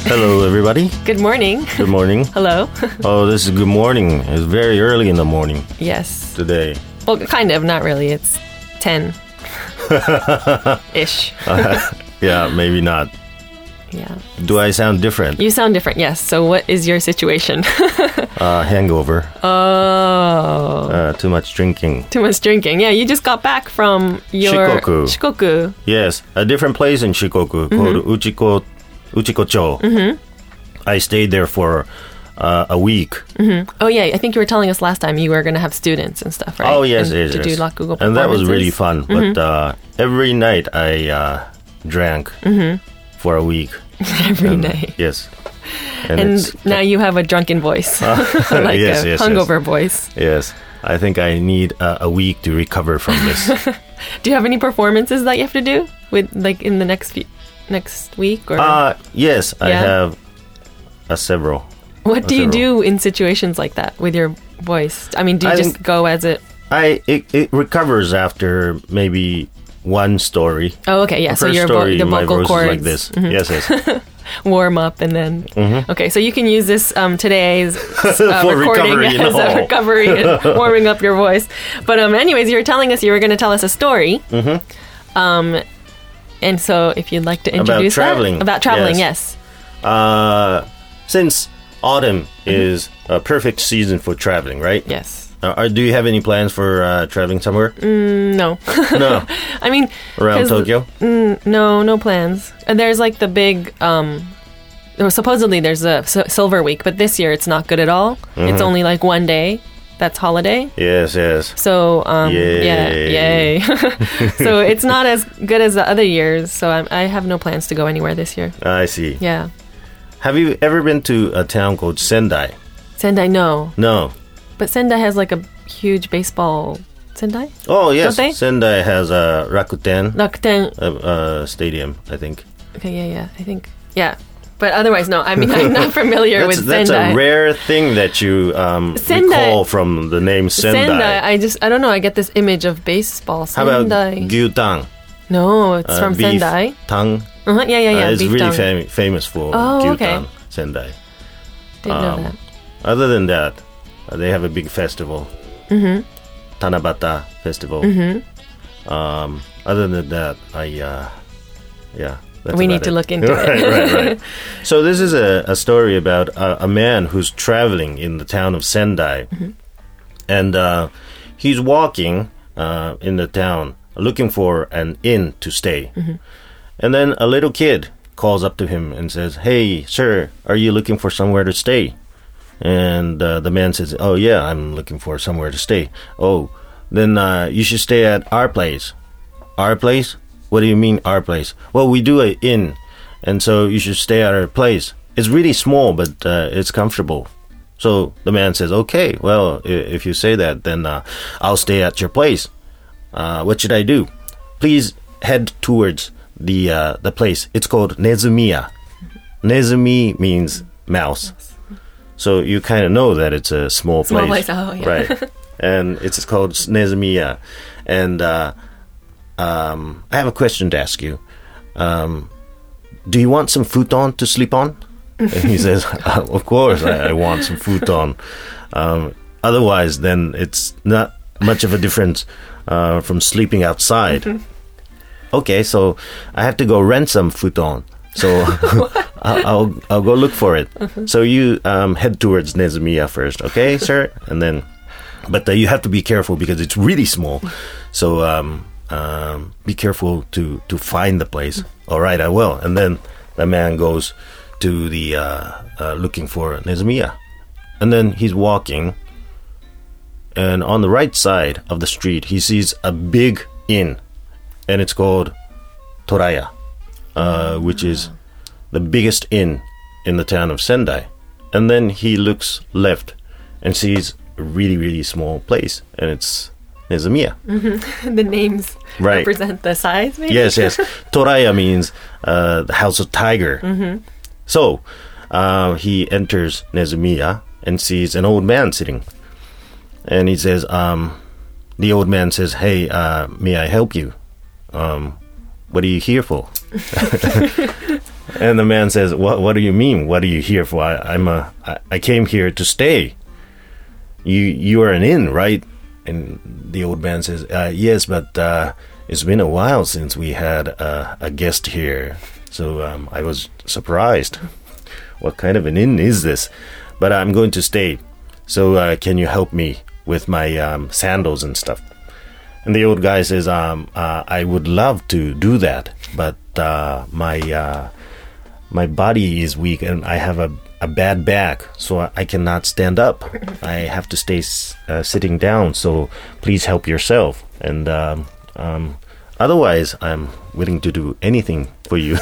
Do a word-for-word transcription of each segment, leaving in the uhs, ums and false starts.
Hello, everybody. Good morning. Good morning. Hello. Oh, this is good morning. It's very early in the morning. Yes. Today. Well, kind of. Not really. It's ten-ish. uh, yeah, maybe not. Yeah. Do I sound different? You sound different, yes. So what is your situation? uh, hangover. Oh. Uh, too much drinking. Too much drinking. Yeah, you just got back from your... Shikoku. Shikoku. Yes, a different place in Shikoku Mm-hmm. called Uchiko, Uchikocho. Mm-hmm. I stayed there for uh, a week. Mm-hmm. Oh, yeah. I think you were telling us last time you were going to have students and stuff, right? Oh, yes, and yes, To yes. do rakugo performances. And that was really fun. Mm-hmm. But uh, every night I uh, drank Mm-hmm. for a week. Every And, night. Yes. And, And it's, now you have a drunken voice. like yes, a yes, hungover yes. voice. Yes. I think I need uh, a week to recover from this. Do you have any performances that you have to do with, like, in the next few, next week? Or Uh, yes, I Yeah? have uh, several. what do you several. do in situations like that with your voice? I mean, do you I just think- go as it? I it, it recovers after maybe one story. Oh, okay, yeah. The So first your story, vo- the my vocal voice cords is like this. Yes, yes. warm up, and then okay. So you can use this um, today's uh, For recording recovery, as no. a recovery and warming up your voice. But um, anyways, you were telling us you were going to tell us a story. Mm-hmm. Um, and so if you'd like to introduce traveling. that about traveling, yes. Uh, since autumn is a perfect season for traveling, right? Yes. Uh, are, do you have any plans for uh, traveling somewhere? No. No. I mean, Around 'cause- Tokyo? Mm, no, no plans. And there's like the big, um, well, supposedly there's a S- Silver Week, but this year it's not good at all. Mm-hmm. It's only like one day. That's holiday. Yes, yes. So, um, yeah, Yay. yay. So it's not as good as the other years. So I'm, I have no plans to go anywhere this year. I see. Yeah. Have you ever been to a town called Sendai? Sendai, no. No. But Sendai has like a huge baseball. Sendai? Oh, yes. Don't they? Sendai has a Rakuten Rakuten. uh, uh, stadium, I think. Okay, yeah, yeah. I think. Yeah. But otherwise, no. I mean, I'm not familiar That's, with that's Sendai. a rare thing that you um, Sendai- recall from the name Sendai. Sendai, I just, I don't know, I get this image of baseball. How about Sendai. gyutang? No, it's Uh, from beef Sendai. Tang? Uh-huh, yeah, yeah, yeah. Uh, it's beef really tongue. fam- famous for Oh, gyutang, okay. Sendai. Didn't know um, that. Other than that, uh, they have a big festival. Mm-hmm. Tanabata Festival. Mm-hmm. Um, other than that, I, uh, yeah. That's We about need to it. look into right, it. right, right. So this is a, a story about a, a man who's traveling in the town of Sendai. Mm-hmm. And uh, he's walking uh, in the town looking for an inn to stay. Mm-hmm. And then a little kid calls up to him and says, "Hey, sir, are you looking for somewhere to stay?" And uh, the man says, "Oh, yeah, I'm looking for somewhere to stay." "Oh, then uh, you should stay at our place." "Our place? What do you mean, our place?" "Well, we do an inn, and so you should stay at our place. It's really small, but uh, it's comfortable." So the man says, "Okay, well, i- if you say that, then uh, I'll stay at your place. Uh, what should I do?" "Please head towards the uh, the place. It's called Nezumiya." Nezumi means mouse. So you kind of know that it's a small place. Small place, oh, yeah. Right. And it's called Nezumiya. And uh, um, I have a question to ask you. Um, do you want some futon to sleep on? And he says, uh, of course, I, I want some futon. Um, otherwise, then it's not much of a difference uh, from sleeping outside. Okay, so I have to go rent some futon. So I'll, I'll I'll go look for it. So you um, head towards Nezumiya first, okay, sir? And then, but uh, you have to be careful because it's really small. So um, um, be careful to, to find the place. All right, I will. And then the man goes to the uh, uh, looking for Nezumiya, and then he's walking. And on the right side of the street, he sees a big inn, and it's called Toraya. Uh, which is the biggest inn in the town of Sendai. And then he looks left and sees a really, really small place, and it's Nezumiya. The names Right. represent the size, maybe? Yes, yes. Toraya means uh, the House of Tiger. Mm-hmm. So uh, he enters Nezumiya and sees an old man sitting. And he says, um, the old man says, "Hey, uh, may I help you? Um, what are you here for?" And the man says, what What do you mean? What are you here for? I, I'm a, I, I came here to stay. You you are an inn, right? And the old man says, uh, yes, but uh, it's been a while since we had uh, a guest here. So um, I was surprised. What kind of an inn is this? But I'm going to stay. So uh, can you help me with my um, sandals and stuff? And the old guy says, um, uh, I would love to do that, but uh, my uh, my body is weak and I have a, a bad back, so I cannot stand up. I have to stay uh, sitting down, so please help yourself. And um, um, otherwise, I'm willing to do anything for you.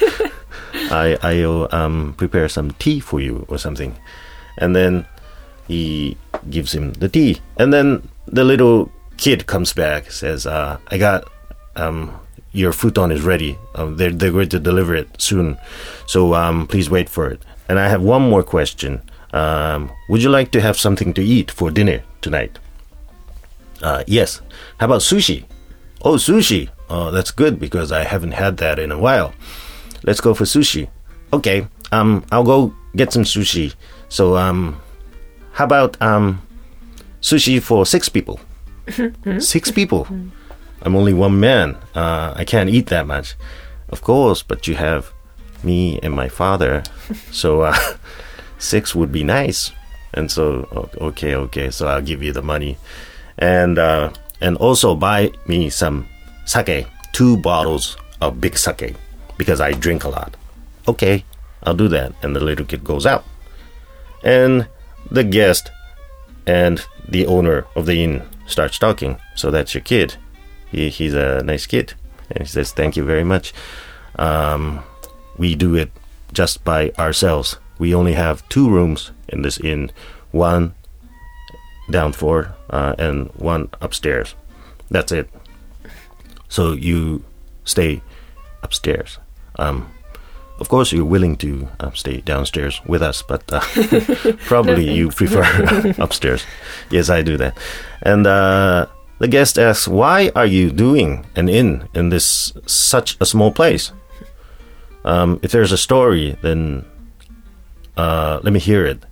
I, I'll um, prepare some tea for you or something. And then he gives him the tea. And then the little kid comes back, says, uh, I got um, your futon is ready. Um, they're, they're going to deliver it soon. So um, please wait for it. And I have one more question. Um, would you like to have something to eat for dinner tonight? Uh, yes. How about sushi? Oh, sushi. Oh, that's good because I haven't had that in a while. Let's go for sushi. Okay. Um, I'll go get some sushi. So um, how about um, sushi for six people? Six people. I'm only one man. Uh, I can't eat that much. Of course, but you have me and my father. So uh, six would be nice. And so, okay, okay. So I'll give you the money. And uh, and also buy me some sake. Two bottles of big sake. Because I drink a lot. Okay, I'll do that. And the little kid goes out. And the guest and the owner of the inn starts talking. So that's your kid. He, he's a nice kid. And he says, thank you very much. Um, we do it just by ourselves. We only have two rooms in this inn. One down floor uh, and one upstairs. That's it. So you stay upstairs. Um, of course, you're willing to uh, stay downstairs with us, but uh, probably no, you prefer upstairs. Yes, I do that. And uh, the guest asks, why are you doing an inn in this such a small place? Um, if there's a story, then uh, let me hear it.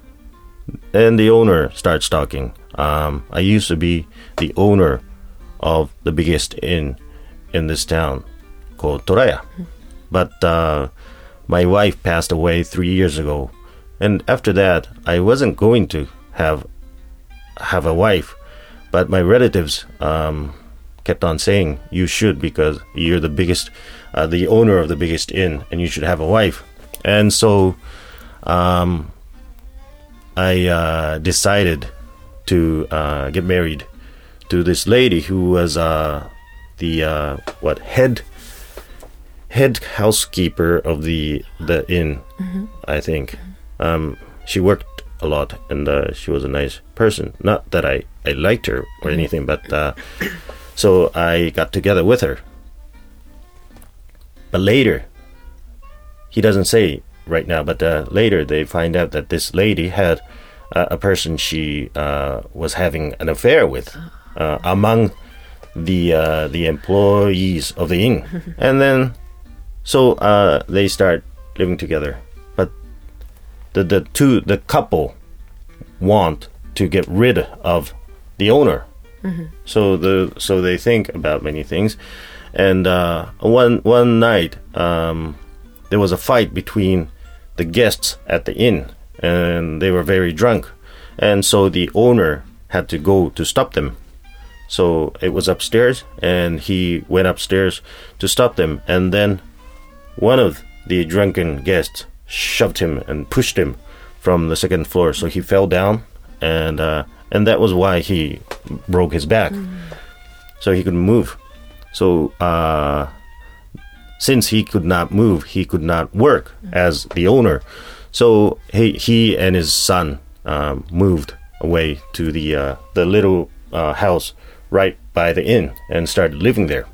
And the owner starts talking. Um, I used to be the owner of the biggest inn in this town called Toraya. But uh, my wife passed away three years ago. And after that, I wasn't going to have have a wife. But my relatives um, kept on saying, you should because you're the biggest, uh, the owner of the biggest inn, and you should have a wife. And so um, I uh, decided to uh, get married to this lady who was uh, the, uh, what, head... head housekeeper of the the inn, mm-hmm. I think. Um, she worked a lot, and uh, she was a nice person. Not that I, I liked her or mm-hmm. anything, but uh, so I got together with her. But later, he doesn't say right now, but uh, later they find out that this lady had uh, a person she uh, was having an affair with uh, among the uh, the employees of the inn, and then. So uh, they start living together, but the the two the couple want to get rid of the owner. Mm-hmm. So the so they think about many things, and uh, one one night um, there was a fight between the guests at the inn, and they were very drunk, and so the owner had to go to stop them. So it was upstairs, and he went upstairs to stop them, and then. One of the drunken guests shoved him and pushed him from the second floor, so he fell down, and uh, and that was why he broke his back, mm. so he couldn't move. So uh, since he could not move, he could not work mm. as the owner. So he he and his son um, moved away to the uh, the little uh, house right by the inn and started living there.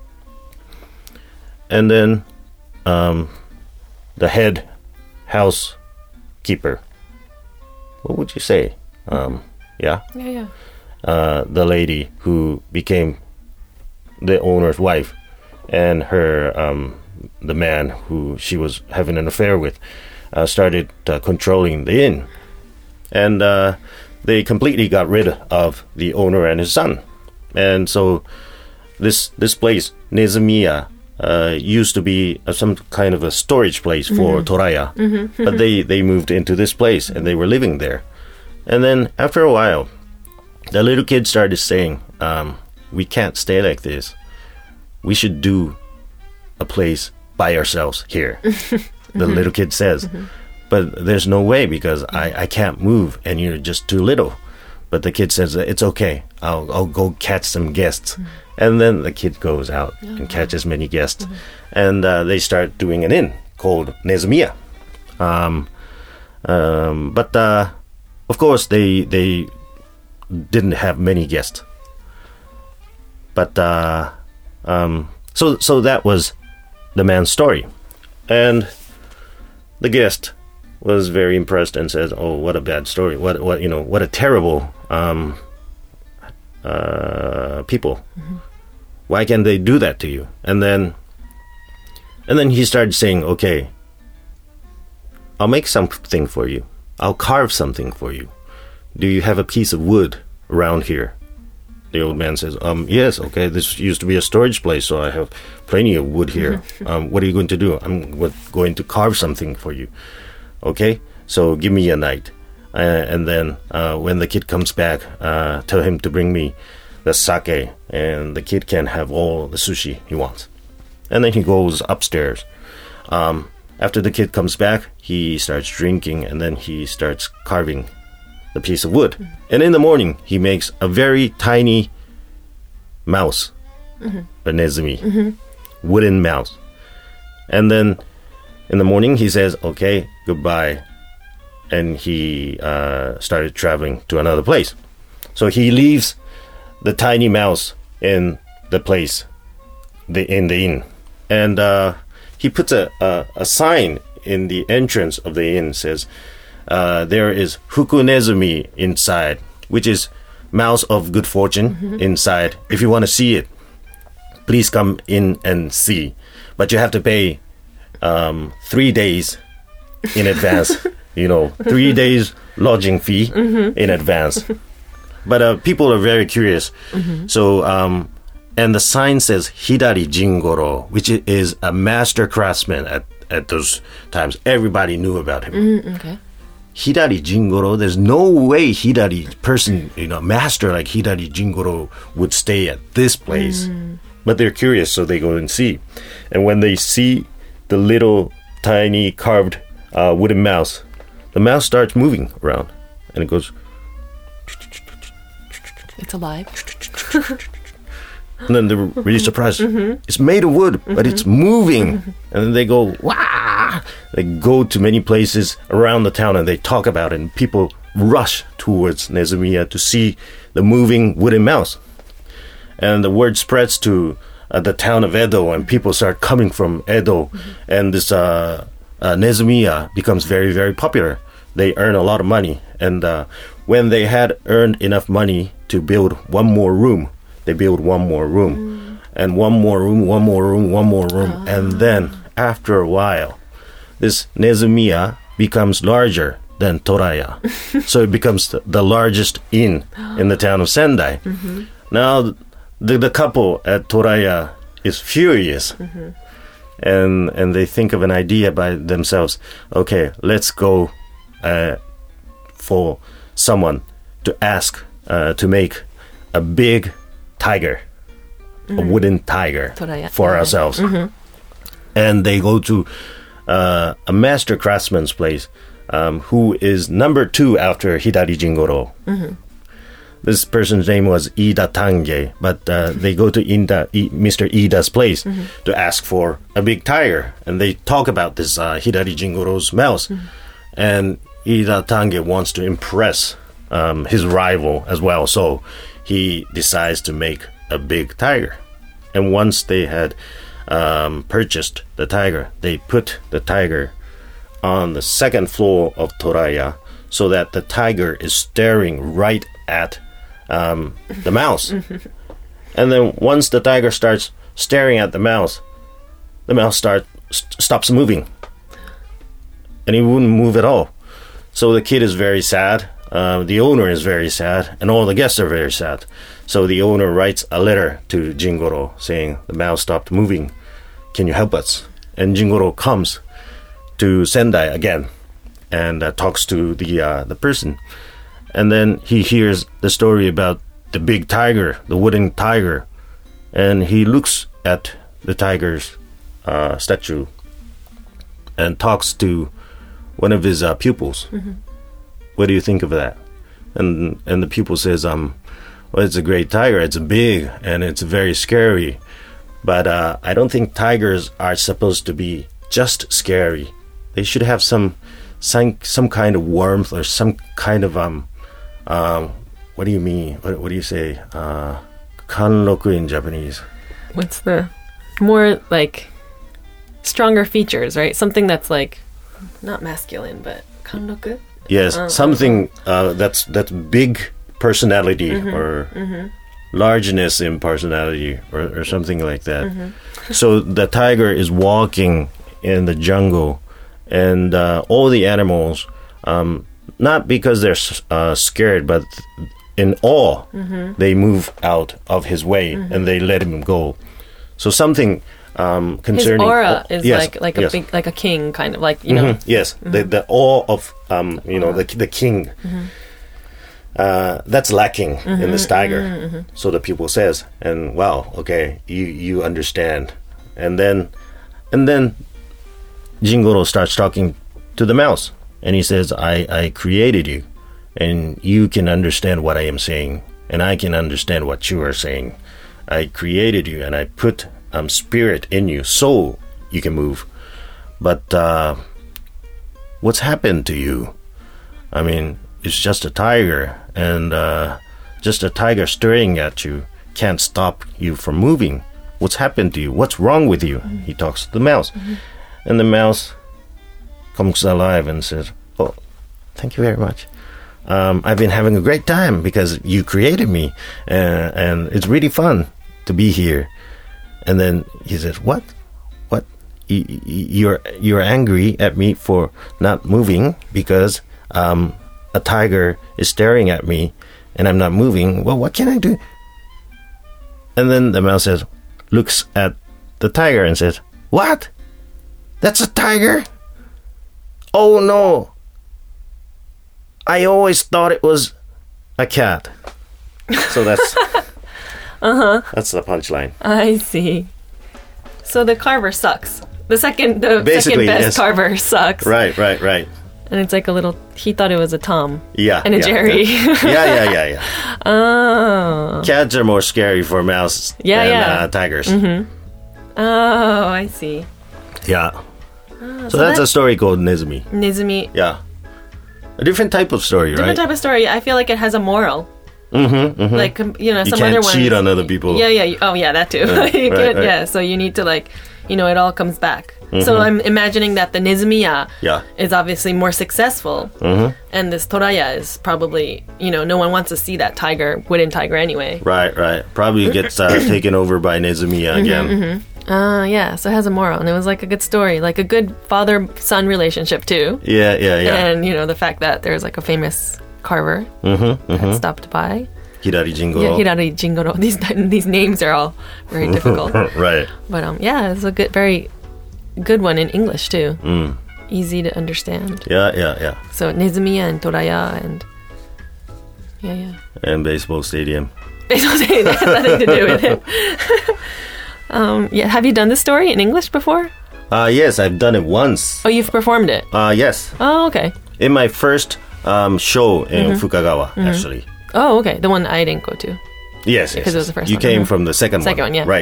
And then. Um, the head housekeeper. What would you say? Um, yeah? Yeah, yeah. Uh, the lady who became the owner's wife and her um, the man who she was having an affair with uh, started uh, controlling the inn, and uh, they completely got rid of the owner and his son, and so this this place Nezumiya uh, used to be uh, some kind of a storage place for mm-hmm. Toraya, mm-hmm. but they they moved into this place and they were living there, and then after a while, the little kid started saying, um, "We can't stay like this. We should do a place by ourselves here." The mm-hmm. little kid says, mm-hmm. "But there's no way because I, I can't move and you're just too little." But the kid says, "It's okay. I'll I'll go catch some guests." Mm-hmm. And then the kid goes out oh, and catches many guests. Mm-hmm. And uh, they start doing an inn called Nezumiya. Um, um, but uh, of course, they they didn't have many guests. But uh, um, so so that was the man's story, and the guest was very impressed and says, "Oh, what a bad story! What what you know? What a terrible um, uh, people! Mm-hmm. Why can't they do that to you?" And then, and then he started saying, "Okay, I'll make something for you. I'll carve something for you. Do you have a piece of wood around here?" The old man says, um, "Yes, okay, this used to be a storage place, so I have plenty of wood here. Um, what are you going to do?" "I'm going to carve something for you." "Okay, so give me a night. Uh, and then uh, when the kid comes back, uh, tell him to bring me the sake, and the kid can have all the sushi he wants." And then he goes upstairs. Um, after the kid comes back, he starts drinking, and then he starts carving the piece of wood. Mm-hmm. And in the morning, he makes a very tiny mouse, mm-hmm. a nezumi, mm-hmm. wooden mouse. And then in the morning, he says, "Okay, goodbye." And he uh, started traveling to another place. So he leaves the tiny mouse in the place, the in the inn. And uh, he puts a, a, a sign in the entrance of the inn, says, Uh, there is Fuku Nezumi inside, which is mouse of good fortune mm-hmm. inside. If you want to see it, please come in and see. But you have to pay um, three days in advance. You know, three days lodging fee mm-hmm. in advance. But uh, people are very curious. Mm-hmm. So, um, and the sign says Hidari Jingoro, which is a master craftsman at, at those times. Everybody knew about him. Mm, okay. Hidari Jingoro, there's no way Hidari person, you know, master like Hidari Jingoro would stay at this place. Mm. But they're curious, so they go and see. And when they see the little tiny carved uh, wooden mouse, the mouse starts moving around, and it goes. It's alive. And then they're really surprised. Mm-hmm. It's made of wood, mm-hmm. but it's moving. Mm-hmm. And then they go, "Wah!" They go to many places around the town and they talk about it. And people rush towards Nezumiya to see the moving wooden mouse. And the word spreads to uh, the town of Edo, and people start coming from Edo. Mm-hmm. And this uh, uh, Nezumiya becomes very, very popular. They earn a lot of money. And uh, when they had earned enough money to build one more room, they build one more room, mm. and one more room, one more room, one more room. Oh. And then, after a while, this Nezumiya becomes larger than Toraya. So it becomes the, the largest inn in the town of Sendai. Mm-hmm. Now, the, the couple at Toraya is furious. Mm-hmm. And, and they think of an idea by themselves. Okay, let's go uh, for someone to ask uh, to make a big tiger, mm-hmm. a wooden tiger Toraya. for yeah. ourselves. Mm-hmm. And they go to uh, a master craftsman's place um, who is number two after Hidari Jingoro. Mm-hmm. This person's name was Ida Tange, but uh, they go to Ida, I, Mister Ida's place mm-hmm. to ask for a big tiger. And they talk about this uh, Hidari Jingoro's mouse. Mm-hmm. And Ida Tange wants to impress um, his rival as well. So he decides to make a big tiger. And once they had um, purchased the tiger, they put the tiger on the second floor of Toraya so that the tiger is staring right at um, the mouse. And then once the tiger starts staring at the mouse, the mouse start st- stops moving, and he wouldn't move at all. So the kid is very sad. Uh, the owner is very sad, and all the guests are very sad. So the owner writes a letter to Jingoro saying, the mouse stopped moving. Can you help us? And Jingoro comes to Sendai again and uh, talks to the uh, the person. And then he hears the story about the big tiger, the wooden tiger. And he looks at the tiger's uh, statue and talks to one of his uh, pupils. Mm-hmm. What do you think of that? And and the pupil says, um, well, it's a great tiger. It's big and it's very scary. But uh, I don't think tigers are supposed to be just scary. They should have some some some kind of warmth or some kind of um um what do you mean? What, what do you say? Uh, kanroku in Japanese. What's the more like stronger features, right? Something that's like not masculine, but kanroku. Yes, uh, something uh, that's that's big personality mm-hmm, or mm-hmm. largeness in personality or, or something like that. Mm-hmm. So the tiger is walking in the jungle, and uh, all the animals, um, not because they're uh, scared, but in awe, mm-hmm. they move out of his way mm-hmm. and they let him go. So something um, concerning his aura oh, is yes, like like a yes. big like a king kind of like you know mm-hmm. yes mm-hmm. the the awe of um, you know the the king. Mm-hmm. Uh, that's lacking mm-hmm, in this tiger. Mm-hmm, mm-hmm. So the pupil says, and wow, okay, you you understand. And then and then Jingoro starts talking to the mouse, and he says, I, I created you, and you can understand what I am saying, and I can understand what you are saying. I created you, and I put um, spirit in you, so you can move. But uh, what's happened to you? I mean, it's just a tiger, and uh, just a tiger staring at you can't stop you from moving. What's happened to you? What's wrong with you? Mm-hmm. He talks to the mouse. Mm-hmm. And the mouse comes alive and says, oh, thank you very much. Um, I've been having a great time because you created me, uh, and it's really fun to be here. And then he says, what? What? Y- y- you're, you're angry at me for not moving because... Um, a tiger is staring at me and I'm not moving. Well, what can I do? And then the mouse says, looks at the tiger and says, what? That's a tiger? Oh no. I always thought it was a cat. So that's uh-huh. That's the punchline. I see. So the carver sucks. The second the Basically, second best yes. carver sucks. Right, right, right. And it's like a little, he thought it was a Tom. Yeah. And a yeah, Jerry. Yeah, yeah, yeah, yeah. yeah. Oh. Cats are more scary for mouse yeah, than yeah. Uh, tigers. Mm-hmm. Oh, I see. Yeah. Oh, so, so that's that, a story called Nezumi. Nezumi. Yeah. A different type of story, different right? Different type of story. I feel like it has a moral. Mm-hmm, mm-hmm. Like, you know, you some can't other ones. cheat on other people. Yeah, yeah. Oh, yeah, that too. Yeah, you right, can't, right. Yeah, so you need to like, you know, it all comes back. Mm-hmm. So I'm imagining that the Nezumiya yeah. is obviously more successful. Mm-hmm. And this Toraya is probably, you know, no one wants to see that tiger, wooden tiger anyway. Right, right. Probably gets uh, taken over by Nezumiya again. Mm-hmm, mm-hmm. Uh, yeah, so it has a moral. And it was like a good story, like a good father-son relationship too. Yeah, yeah, yeah. And, you know, the fact that there's like a famous carver mm-hmm, mm-hmm. that stopped by. Hirari Jingoro. Yeah, Hirari Jingoro. These these names are all very difficult. Right. But um, yeah, it's a good, very good one in English too. Mm. Easy to understand. Yeah, yeah, yeah. So Nezumiya and Toraya and yeah, yeah. And baseball stadium. Baseball stadium has nothing to do with it. um, yeah, have you done this story in English before? Uh, yes, I've done it once. Oh, you've performed it? Uh, yes. Oh, okay. In my first um, show in mm-hmm. Fukagawa, mm-hmm. actually. Oh, okay. The one I didn't go to. Yes, yes. Because it was the first you one. You came mm-hmm. from the second, second one. one. yeah. Right.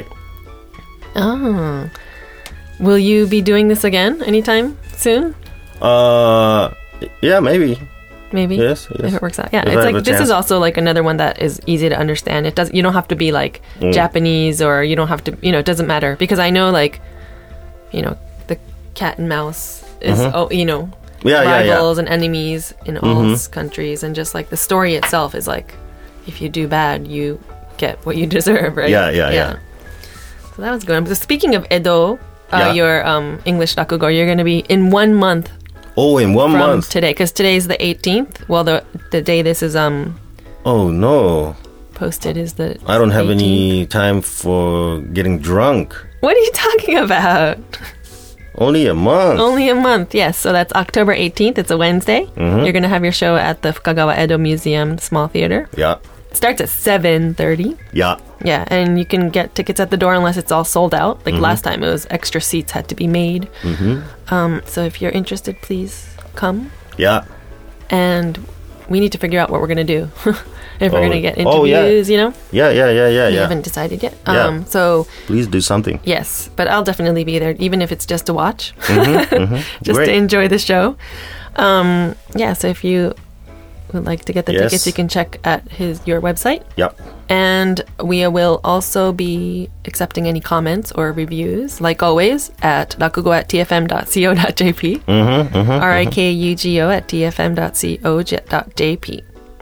Oh. Will you be doing this again anytime soon? Uh, yeah, maybe. Maybe. Yes, yes. If it works out. Yeah, if it's I like have a this chance. is also like another one that is easy to understand. It does you don't have to be like mm. Japanese or you don't have to, you know, it doesn't matter because I know like you know, the cat and mouse is mm-hmm. oh, you know, yeah, rivals yeah, yeah. and enemies in all mm-hmm. countries and just like the story itself is like if you do bad, you get what you deserve, right? Yeah, yeah, yeah. yeah. So that was good. So speaking of Edo, uh, Yeah. your um, English rakugo, you're going to be in one month Oh, in one from month. today, because today's the eighteenth. Well, the the day this is um Oh, no. posted is the I don't have eighteenth. any time for getting drunk. What are you talking about? Only a month. Only a month, yes. So that's October eighteenth. It's a Wednesday. Mm-hmm. You're going to have your show at the Fukagawa Edo Museum Small Theater. Yeah. It starts at seven thirty. Yeah. Yeah, and you can get tickets at the door unless it's all sold out. Mm-hmm. Like last time, it was extra seats had to be made. Mm-hmm. Um, so if you're interested, please come. Yeah. And we need to figure out what we're going to do. If we're Oh. going to get Oh, yeah. interviews, you know? Yeah, yeah, yeah, yeah, We yeah. haven't decided yet. Yeah. Um, so, Please do something. yes, but I'll definitely be there, even if it's just to watch, Mm-hmm, just Great. to enjoy the show. Um, yeah, so if you would like to get the Yes. tickets, you can check at his your website. Yep. And we will also be accepting any comments or reviews, like always, at rakugo at t f m dot co dot j p, Mm-hmm, mm-hmm. R I K U G O at t f m dot co dot j p.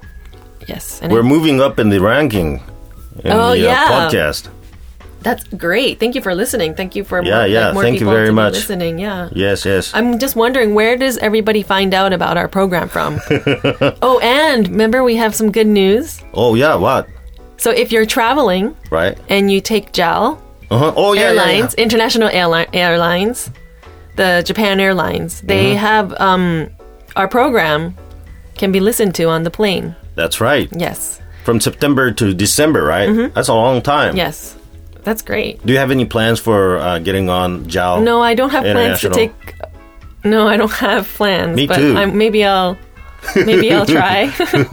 Yes. And We're I- moving up in the ranking in Oh, the uh, yeah. podcast. that's great. Thank you for listening. Thank you for Yeah, more, yeah. like, more Thank you people very to be much. listening. Yeah. Yes, yes. I'm just wondering, where does everybody find out about our program from? Oh, and remember, we have some good news. Oh, yeah, what? So if you're traveling Right? and you take J A L Uh-huh. Oh, yeah, yeah, Airlines, yeah. International Airli- Airlines, the Japan Airlines, they Mm-hmm. have um, our program can be listened to on the plane. That's right. Yes. From September to December, right? Mm-hmm. That's a long time. Yes. That's great. Do you have any plans for uh, getting on J A L? No, I don't have plans to International? take. No, I don't have plans. Me but too. I'm, maybe I'll, maybe I'll try.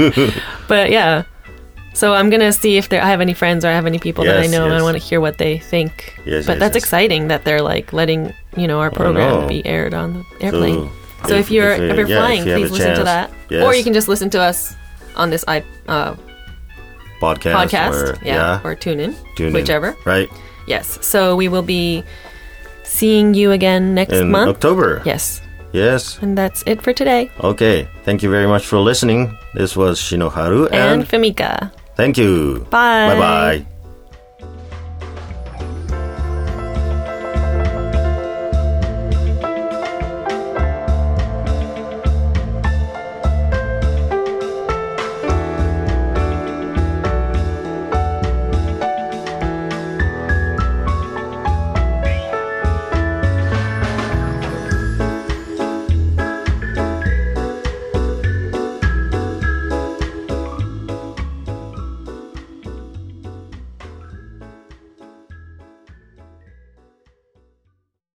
But yeah, so I'm gonna see if there, I have any friends or I have any people that I Yes, know, and I yes. want to hear what they think. Yes, but yes, that's yes. exciting that they're like letting you know our program know. be aired on the airplane. So, So, if- if, you're if you- if you're yeah, if flying, you have please a listen to chance. that, Yes. or you can just listen to us on this i uh, podcast, podcast, or, yeah, or tune in, tune in. whichever. Right? Yes. So we will be seeing you again next In month. October. Yes. Yes. And that's it for today. Okay. Thank you very much for listening. This was Shinoharu And and Famika. thank you. Bye. Bye-bye.